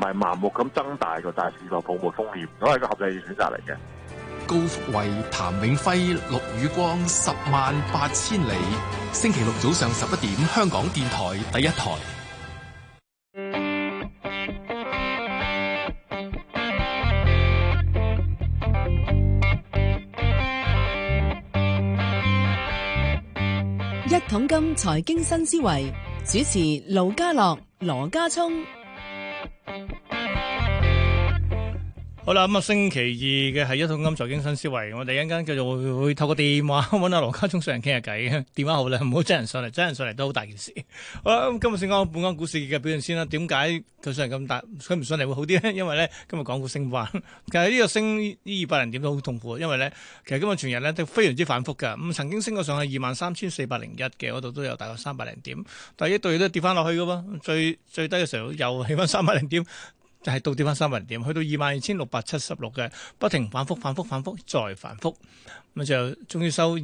係盲目咁增大個大市個泡沫風險，都係個合理選擇嚟嘅。 高福慧、譚永輝、陸宇光，108000里。星期六早上11點，香港電台第一台。 一桶金財經新思維，主持盧家樂、羅家聰。 好啦，咁啊，星期二嘅係一桶金財經新思維，我哋一陣間繼續會透過電話揾阿羅家聰上嚟傾下偈。電話好啦，唔好真人上嚟，真人上嚟都好大件事。好啦，咁今日先講本港股市嘅表現先啦。點解佢上嚟咁大，佢唔上嚟會好啲咧？因為咧今日港股升翻，其實呢個升呢200零點都好痛苦，因為咧其實今日全日咧都非常之反覆㗎。咁曾經升過上去23,401嘅嗰度都有大概300零點，但係一度亦都跌翻落去㗎喎。最低嘅時候又起翻300零點。就係倒跌翻300零點，去到22,676嘅，不停反覆再反覆，咁就終於收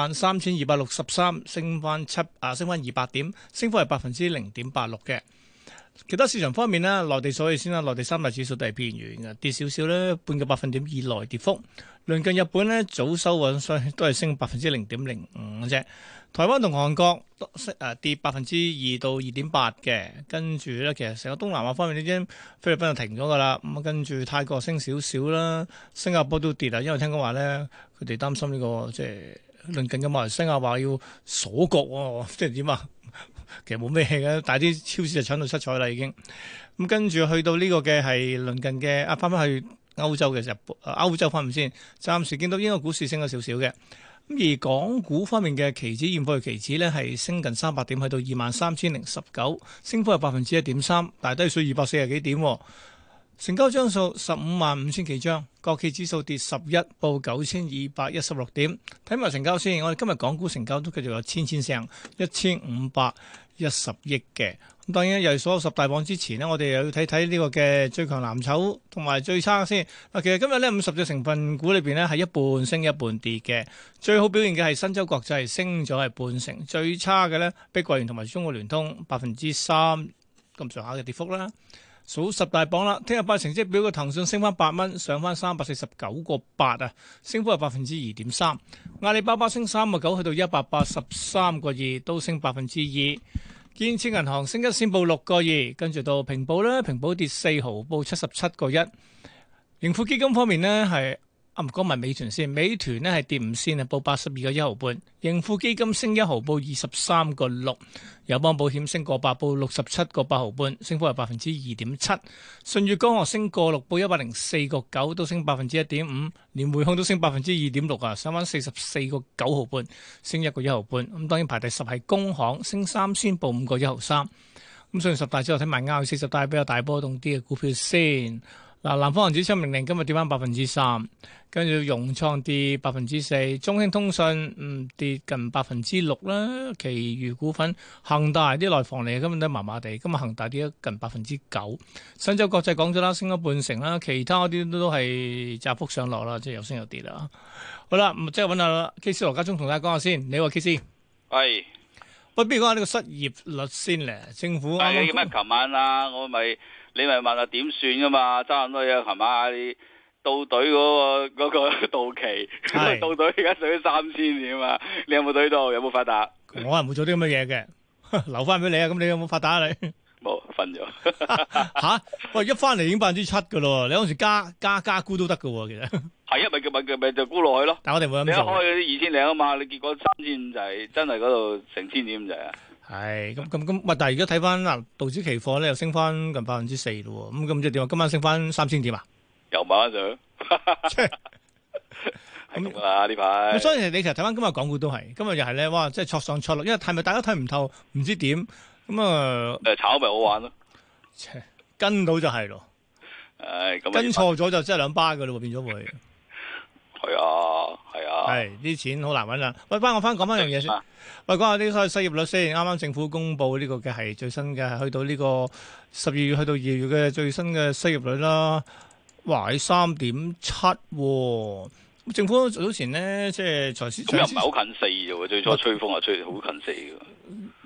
23,263，升翻200點，升幅係0.86%嘅。其他市場方面呢，內地所以先啦，內地三大指數都係偏軟嘅，跌少少咧，半個百分點以內跌幅。鄰近日本呢，早收穩，所以都係升0.05%嘅啫。台灣同韓國跌2%到2.8%嘅，跟住咧其實成個東南亞方面呢啲菲律賓就停咗噶啦，咁跟住泰國升少少啦，新加坡都跌啊，因為聽講話咧佢哋擔心呢個即係鄰近嘅馬來西亞話要鎖國喎，即係點啊？其實冇咩嘅，但係啲超市就搶到七彩啦已經。咁跟住去到呢個嘅係鄰近嘅翻返去歐洲嘅時候，歐洲方面先，暫時見到英國股市升咗少少嘅。咁而港股方面嘅期指現貨期指咧係升近300點，去到23,019，升幅係1.3%，但係都係數240幾點。成交張數155000幾張，國企指數跌11，報9216點。睇埋成交先，我哋今日港股成交都繼續有千聲，1510億嘅。咁當然又係所有10大榜之前呢，我哋又要睇睇呢個嘅最強藍籌同埋最差先。嗱，其實今日呢50隻成分股裏邊呢係一半升一半跌嘅，最好表現嘅係新洲國際升咗係半成，最差嘅呢碧桂園同埋中國聯通3%咁上下嘅跌幅啦。數10大榜啦，聽日派成績表嘅騰訊升翻8蚊，上翻349.8啊，升幅係2.3%。阿里巴巴升3.9，去到183.2，都升2%。建設銀行升1仙報6.2，跟住到平保咧，平保跌4毫，報77.1。盈富基金方面呢，係唔講埋美團先，美團呢係跌5仙啊，報82.1毫半。盈富基金升1毫，報23.6。友邦保險升8，報67.8毫半，升幅係2.7%。舜宇光學升6，報104.9，都升1.5%。連匯控都升2.6啊，上翻44.9毫半，升1.1毫半。咁當然排第10係工行，升3仙，報5.1毫3。咁上完10大之後睇埋啱40大比較大波動啲嘅股票先。嗱，南方恒指700今日跌翻3%，跟住融創跌4%，中興通訊跌近6%啦。其餘股份，恒大啲內房嚟，根本都麻麻地。今日恒大跌咗近9%。新洲國際講咗啦，升咗半成啦。其他嗰啲都係窄幅上落啦，即係有升有跌啦。好啦，即係揾下 K C 羅家聰同大家講下先。你話 K C？ 係。 喂，不如講下呢個失業率先咧。政府係咁啊！琴晚啊，你咪問下點算噶嘛？差唔多嘢，琴晚你到隊嗰個到期，到隊而家上咗3000點啊！你有冇隊到？有冇發達？ 我係冇做啲咁嘅嘢嘅，留翻俾你啊！咁你有冇發達啊？你冇瞓咗吓？喂，一翻嚟已經7%噶咯！你嗰時加沽都得噶喎，其實係啊，咪就沽落去咯。 但我哋冇咁做。 你一開嗰啲2000零啊嘛，你結果3500就係真係嗰度成千點就係。 係咁，但係而家睇翻嗱，道指期貨咧又升翻近4%咯，咁即係點啊？今晚升翻3000點啊？ 又慢上，係咁啦呢排。 所以你其實睇翻今日港股都係，今日又係咧，哇！即係挫上挫落，因為係咪大家睇唔透，唔知點咁啊？ 炒咪好玩咯， 跟到就係咯，跟錯咗就真係2巴噶咯，變咗會。 係啊， 係啲錢好難揾啦。喂，我翻講翻樣嘢先。喂，講下啲所謂失業率先。啱啱政府公布呢個嘅係最新嘅，去到呢個12月去到2月嘅最新嘅失業率啦。哇，喺3.7。政府早前呢，即係財司咁又唔係好近4啫喎。最初吹風係吹好近4嘅。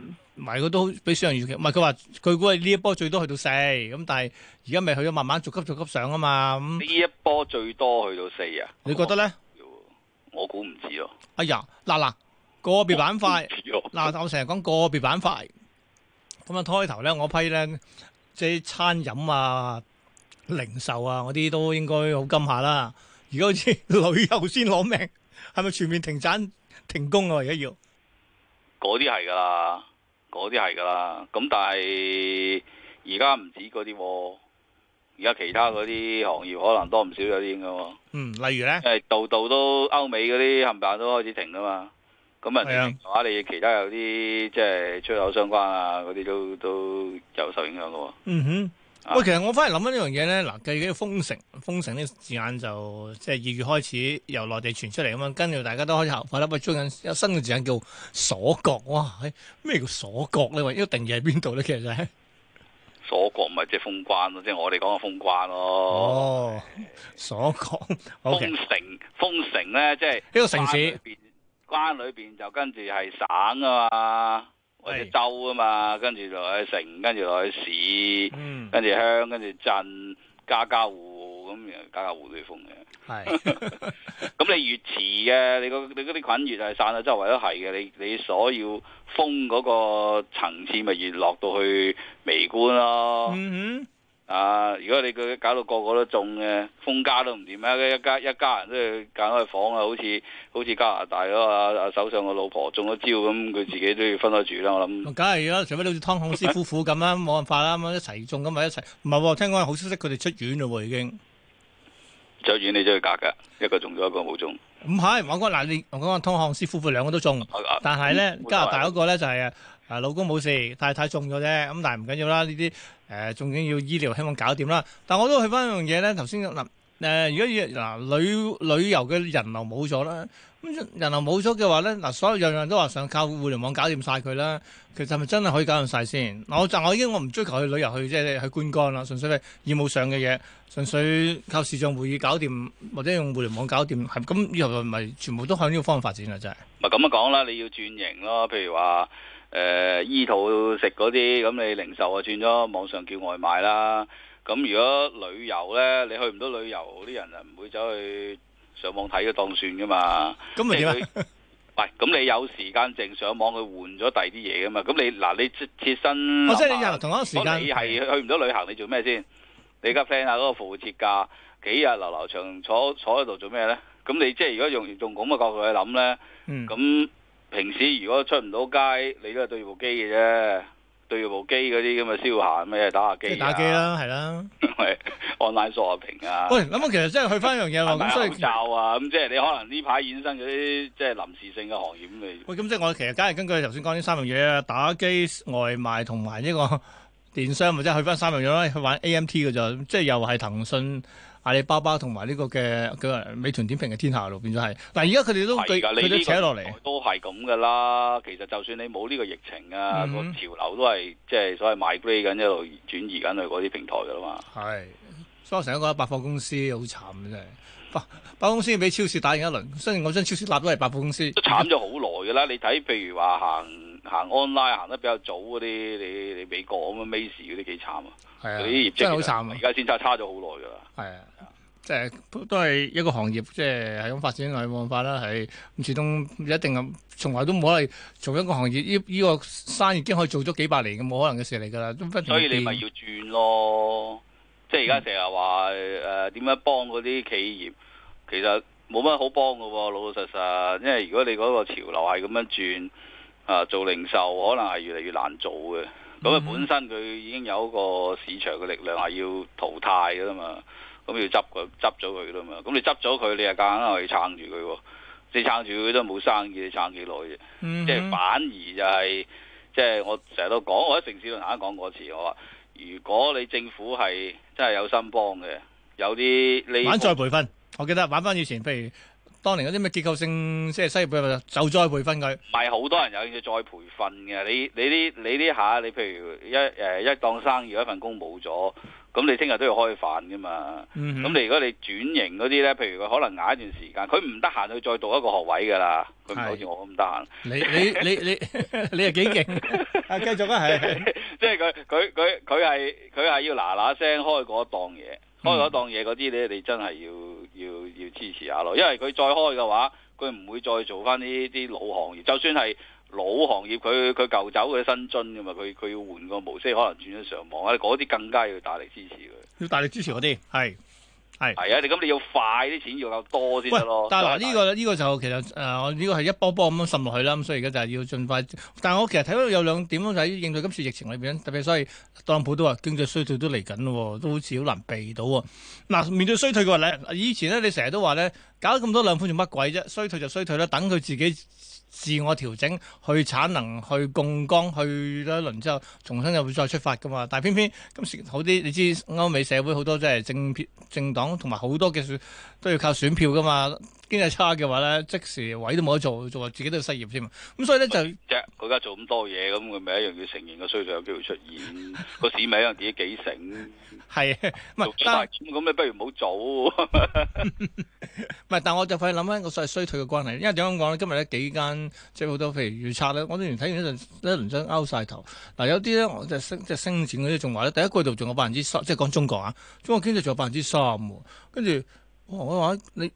係佢都比市場預期，唔係佢話佢估係呢一波最多去到4，咁但係而家咪去咗慢慢逐級上啊嘛。 呢一波最多去到4啊？ 你覺得咧？ 我估唔知咯。 哎呀，嗱個別板塊，嗱我成日講個別板塊，咁啊開頭咧我批咧即係餐飲啊、零售啊嗰啲都應該好金下啦。而家好似旅遊先攞命，係咪全面停產停工啊？而家要嗰啲係㗎啦，嗰啲係㗎啦。咁但係而家唔止嗰啲喎，而家其他嗰啲行業可能多唔少有啲㗎喎。 例如咧， 度都歐美嗰啲冚唪唥都開始停㗎嘛。咁啊，話你其他有啲即係出口相關啊嗰啲都有受影響㗎喎。 嗯哼。喂，其實我翻嚟諗緊呢樣嘢咧，嗱，計嘅封城呢個字眼就即係2月開始由內地傳出嚟咁樣，跟住大家都開始效法啦。喂，最近有新嘅字眼叫鎖國，哇！咩叫鎖國咧？喂，呢個定義喺邊度咧？其實係鎖國咪即係封關咯，即係我哋講嘅封關咯。 哦，鎖國， 封城咧，即係呢個城市關裏邊就跟住係省啊嘛。或者州啊嘛，跟住落去城，跟住落去市，跟住鄉，跟住鎮，家戶咁，家戶都要封嘅。係，咁你越遲嘅，你嗰啲菌越係散到周圍都係嘅，你所要封嗰個層次咪越落到去微觀咯。如果你佢搞到個個都中嘅，封家都唔掂啊！一家人都要揀開房啊，好似加拿大嗰個首相個老婆中咗招咁，佢自己都要分開住啦。我諗， 梗係啦，除非好似湯漢斯夫婦咁啦，冇辦法啦，咁一齊中咁咪一齊。唔係喎，聽講好消息，佢哋出院嘞喎，已經出院你都要隔㗎，一個中咗，一個冇中。 唔係，我講嗱，我講湯漢斯夫婦兩個都中，但係咧加拿大嗰個咧就係老公冇事，太太中咗啫。咁但係唔緊要啦，呢啲仲緊要醫療，希望搞掂啦。但我都去翻一樣嘢咧，頭先嗱如果旅遊嘅人流冇咗啦，咁人流冇咗嘅話咧，嗱所有樣樣都話想靠互聯網搞掂晒佢啦。其實係咪真係可以搞掂晒先？我唔追求去旅遊去即係去觀光啦，純粹係業務上嘅嘢，純粹靠視像會議搞掂或者用互聯網搞掂，係咁以後咪全部都向呢個方向發展啦，真係。 咪咁樣講啦，你要轉型咯，譬如話。醫肚食嗰啲，咁你零售啊轉咗網上叫外賣啦。咁如果旅遊呢，你去唔到旅遊，啲人啊唔會走去上網睇嘅當算噶嘛。咁咪點啊？喂，咁你有時間淨上網去換咗第二啲嘢噶嘛？咁你切身， 即係你又同一個時間， 你係去唔到旅行，你做咩先？你而家 plan 下嗰個復活節假幾日流流長坐喺度做咩呢？咁你即係如果用咁嘅角度去諗呢，咁。平時如果出唔到街，你都係對住部機嘅啫，對住部機嗰啲咁嘅消閒咩打下機打機啦，係啦 ，online shopping 啊。 喂，咁其實真係去翻一樣嘢喎，咁所以口罩啊，咁即係你可能呢排衍生嗰啲即係臨時性嘅行業咁嚟。 喂，咁即係我其實梗係根據頭先講呢3樣嘢啊，打機、外賣同埋呢個電商，咪即係去翻3樣嘢啦，去玩 AMT 嘅啫，即係又係騰訊。阿里巴巴同埋呢個嘅美團點評嘅天下路變咗係，嗱而家佢哋都佢都扯落嚟， 都係咁噶啦。其實就算你冇呢個疫情啊，個潮流都係即係所謂 migrate 緊一路轉移緊去嗰啲平台噶啦嘛。係， 所以我成日覺得百貨公司好慘嘅真係，百貨公司要俾超市打贏一輪，雖然我將超市立都係百貨公司， 都慘咗好耐噶啦。你睇譬如話行 online 行得比較早嗰啲，你美國咁樣 Macy 嗰啲幾慘啊！係啊，啲業績真係好慘啊！而家先差咗好耐噶啦。係啊， 即係都係一個行業，即係係咁發展落去冇辦法啦。係咁始終一定咁，從來都冇可能做一個行業。呢個生意已經可以做咗幾百年嘅，冇可能嘅事嚟㗎啦。 所以你咪要轉咯。即係而家成日話點樣幫嗰啲企業，其實冇乜好幫㗎喎，老老實實。因為如果你嗰個潮流係咁樣轉。做零售可能係越嚟越難做嘅，咁啊本身佢已經有一個市場嘅力量係要淘汰噶啦嘛，咁要執咗佢啦嘛，咁你執咗佢，你又夾硬去撐住佢喎，你撐住佢都冇生意，你撐幾耐啫？即係反而就係，即係我成日都講，我喺城市論壇講過一次，我話如果你政府係真係有心幫嘅，有啲你玩再培訓，我記得玩翻以前，譬如。當年嗰啲咩結構性即係西業就再培訓佢， 唔係好多人有興趣再培訓嘅。你呢下，你譬如一檔生意一份工冇咗，咁咁你聽日都要開飯噶嘛。咁你如果你轉型嗰啲咧，譬如佢可能捱一段時間，佢唔得閒去再讀一個學位噶啦，佢唔好似我咁得閒。 你係幾勁？啊，繼續啊，係， 即係佢係要嗱聲開嗰檔嘢，開嗰檔嘢嗰啲咧，你真係要支持下咯，因為佢再開嘅話，佢唔會再做翻呢啲老行業，就算係老行業，佢舊走嘅新津噶嘛，佢要換個模式，可能轉咗上網啊，嗰啲更加要大力支持佢， 要大力支持嗰啲係。係啊！你咁你要快啲錢要夠多先得咯。 但係嗱呢個就其實我呢個係一波波咁樣滲落去啦。咁所以而家就係要盡快。但係我其實睇到有兩點咯，就喺應對今次疫情裏邊，特別所以特朗普都話經濟衰退都嚟緊咯，都好似好難避到喎。嗱，面對衰退嘅話咧，以前咧你成日都話咧，搞咁多兩款做乜鬼啫？衰退就衰退啦，等佢自己自我調整，去產能，去槓桿，去咗一輪之後，重新又會再出發噶嘛。但係偏偏今時好啲，你知歐美社會好多即係政黨同埋好多嘅都要靠選票噶嘛。經濟差嘅話咧，即時位都冇得做，做自己都要失業添。咁所以咧就佢而家做咁多嘢，咁佢咪一樣要承認個衰退有機會出現。個市咪一樣自己幾醒。係，唔係但咁你不如唔好做。 唔係，但我就快諗翻個所謂衰退嘅關係，因為點樣講咧？今日咧幾間即係好多譬如預測咧，我之前睇完一輪真拗晒頭。嗱，有啲咧我就升展嗰啲仲話咧，第一季度仲有3%，即係講中國啊，中國經濟仲有3%喎。跟住我話你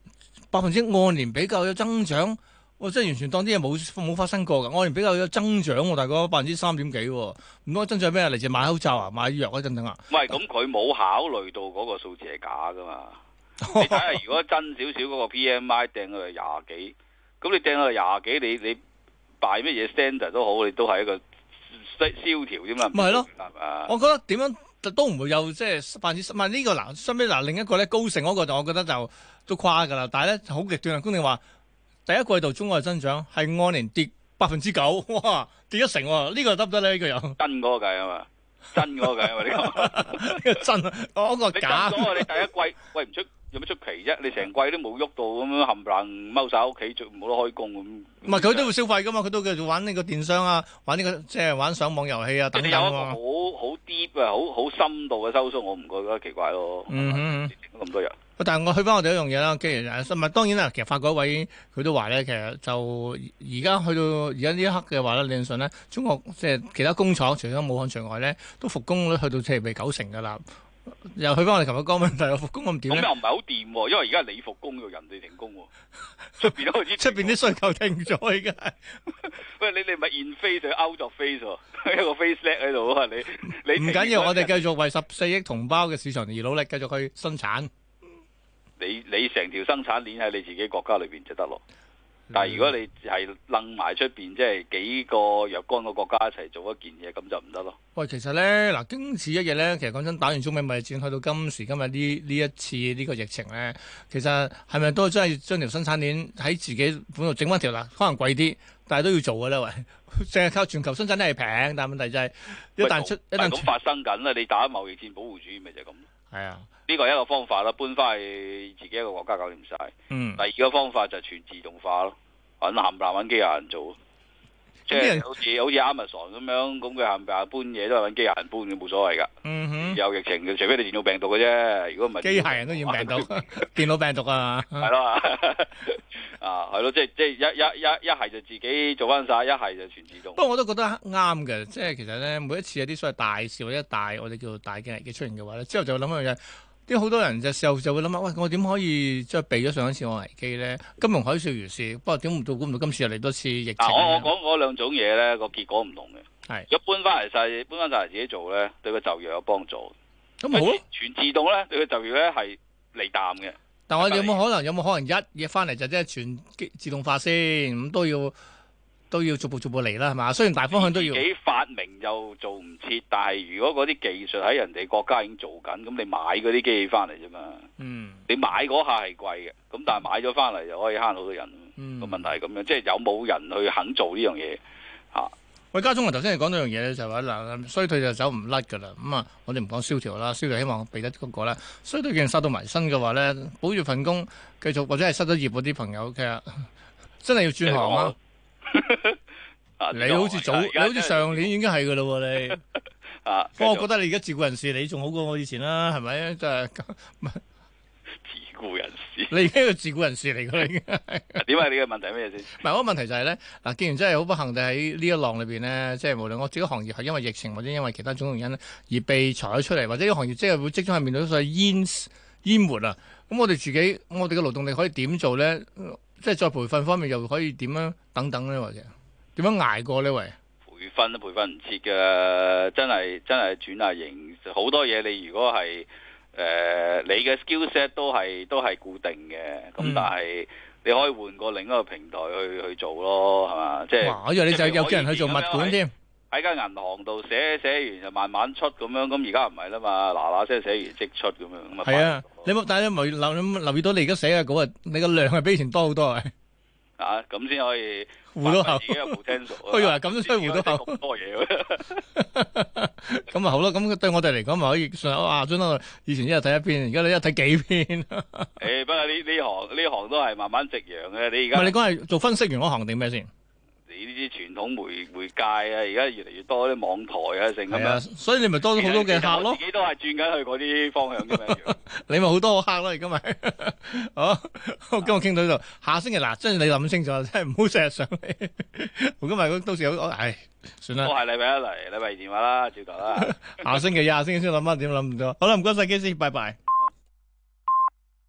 %按年比較有增長，我真係完全當啲嘢冇發生過㗎。按年比較有增長喎，大概3%幾喎。唔通增長咩啊？嚟自買口罩啊、買藥嗰陣等啊？ 唔係，咁佢冇考慮到嗰個數字係假㗎嘛？你睇下，如果真少少嗰個 PMI 掟到係20幾，咁你掟到係20幾，你擺乜嘢 standard 都好，你都係一個蕭條啫嘛。 咪係咯，我覺得點樣都唔會有即係10%。唔係呢個嗱，相比嗱另一個咧高盛嗰個就我覺得就都誇㗎啦。但係咧好極端啊，公定話第一季度中國嘅增長係按年跌9%，哇，跌1成喎，呢個得唔得咧？呢個有真嗰個計啊嘛，真嗰個計啊嘛，呢個真啊，嗰個假。 你真咗你第一季喂唔出。有乜出奇啫？你成季都冇喐到咁樣冚唪唥踎晒喺屋企，冇得開工咁。唔係佢都會消費噶嘛？佢都繼續玩呢個電商啊，玩呢個即係玩上網遊戲啊等等。 你有一個好 deep 啊，好深度嘅收縮，我唔覺得奇怪咯。咁多人。 但係我去翻我哋一樣嘢啦，既然唔係當然啦，其實法國位佢都話咧，其實就而家去到而家呢一刻嘅話咧，理論上咧，中國即係其他工廠除咗武漢除外咧，都復工率去到即係90%㗎啦。又去翻我哋琴日講問題，復工咁點咧？ 咁又唔係好掂喎，因為而家你復工，人哋停工喎。出邊都開始， 出邊啲需求停咗而家。 喂，你咪 in phase 就 out of phase 喎，一個 phase lag 喺度啊！你唔緊要，我哋繼續為14億同胞嘅市場而努力，繼續去生產。 你成條生產鏈喺你自己國家裏邊就得咯。但係如果你係楞埋出邊，即係幾個若干個國家一齊做一件嘢，咁就唔得咯。 喂，其實咧嗱，經此一日咧，其實講真，打完中美貿易戰去到今時今日呢一次呢個疫情咧，其實係咪都真係將條生產鏈喺自己本度整翻條啦？可能貴啲，但係都要做嘅咧。喂，淨係靠全球生產都係平，但係問題就係一旦咁發生緊啦，你打貿易戰保護主義咪就係咁。 係啊， 呢個係一個方法啦，搬翻去自己一個國家搞掂晒。第二個方法就係全自動化咯，揾冚唪唥揾機械人做，即係好似 Amazon 咁樣，咁佢冚唪唥搬嘢都係揾機械人搬嘅，冇所謂噶。有疫情嘅，除非你電腦病毒嘅啫。如果唔係，機械人都染病毒，電腦病毒啊，係咯，係咯，即係一係就自己做翻晒，一係就全自動。不過我都覺得啱嘅，即係其實咧，每一次有啲所謂大事或者我哋叫做大嘅危機出現嘅話咧，之後就會諗一樣嘢。啲好多人就時候就會諗下，喂，我點可以即係避咗上一次我危機咧？金融海嘯如是，不過估唔到今次又嚟多次疫情。我講嗰兩種嘢咧，個結果唔同嘅。係，如果搬翻嚟自己做咧，對個就業有幫助。咁好，全自動咧，對個就業咧係利淡嘅。但我哋有冇可能一嘢翻嚟就即係全自動化先？咁都要逐步嚟啦，係嘛？雖然大方向都要。自己發明又做唔切，但係如果嗰啲技術喺人哋國家已經做緊，咁你買嗰啲機器翻嚟啫嘛。你買嗰下係貴嘅，咁但係買咗翻嚟就可以慳好多人。個問題係咁樣，即係有冇人去肯做呢樣嘢嚇？喂，家中啊，頭先你講到樣嘢咧，就話嗱，衰退就走唔甩㗎啦。咁啊，我哋唔講蕭條啦，蕭條希望避得嗰個啦。衰退既然殺到埋身嘅話咧，保住份工繼續，或者係失咗業嗰啲朋友，其實真係要轉行啊！你好似上年已經係噶啦喎，你啊， 不過我覺得你而家自雇人士，你仲好過我以前啦，係咪？真係自雇人士， 你而家係個自雇人士嚟㗎啦，已經。 點解你嘅問題係咩先？ 唔係，我個問題就係咧，嗱，既然真係好不幸地喺呢一浪裏邊咧，即係無論我自己行業係因為疫情或者因為其他種種原因咧而被裁咗出嚟，或者呢個行業即係會即將係面對所謂淹沒啊，咁我哋自己，我哋嘅勞動力可以點做咧？即係再培訓方面又可以點樣等等咧，或者點樣捱過呢？喂， 培訓都培訓唔切㗎，真係轉下型，好多嘢你如果係你嘅 skill set 都係固定嘅，咁但係你可以換過另一個平台去做咯，係嘛？即係哇！我以為你就有叫人去做物管添。 喺間銀行度寫完就慢慢出咁樣，咁而家唔係啦嘛，嗱嗱聲寫完即出咁樣，咁啊係啊，但係你留意到你而家寫嘅稿啊，你個量係比以前多好多啊！ 啊，咁先可以糊到口， 自己嘅 potential。 我以為咁都需要糊到口咁多嘢咁咪好咯，咁對我哋嚟講咪可以順啊！將來以前一日睇一篇，而家你一日睇幾篇。 不過呢行都係慢慢夕陽嘅。你而家唔係你講係做分析員嗰行定咩先？ 你呢啲傳統媒介啊，而家越嚟越多啲網台啊，成咁樣， 所以你咪多咗好多嘅客咯。 自己都係轉緊去嗰啲方向嘅咩？ 你咪好多客咯，而家咪好。今日傾到呢度，下星期嗱，真係你諗清楚，真係唔好成日上嚟。今日到時有，唉，算啦。 我係禮拜一嚟，禮拜二電話啦，照舊啦。 下星期先諗翻點諗唔到。好啦，唔該晒，基師，拜拜。